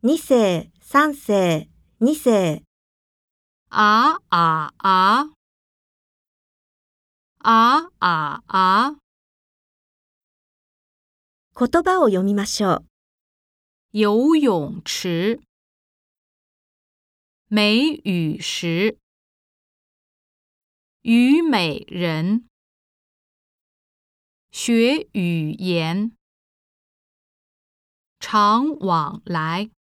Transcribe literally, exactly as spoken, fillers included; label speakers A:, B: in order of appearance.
A: 二世、三世、二世。
B: 啊啊啊啊啊啊
A: 言葉を読みましょう。
B: 游泳池美语石虞美人学语言常往来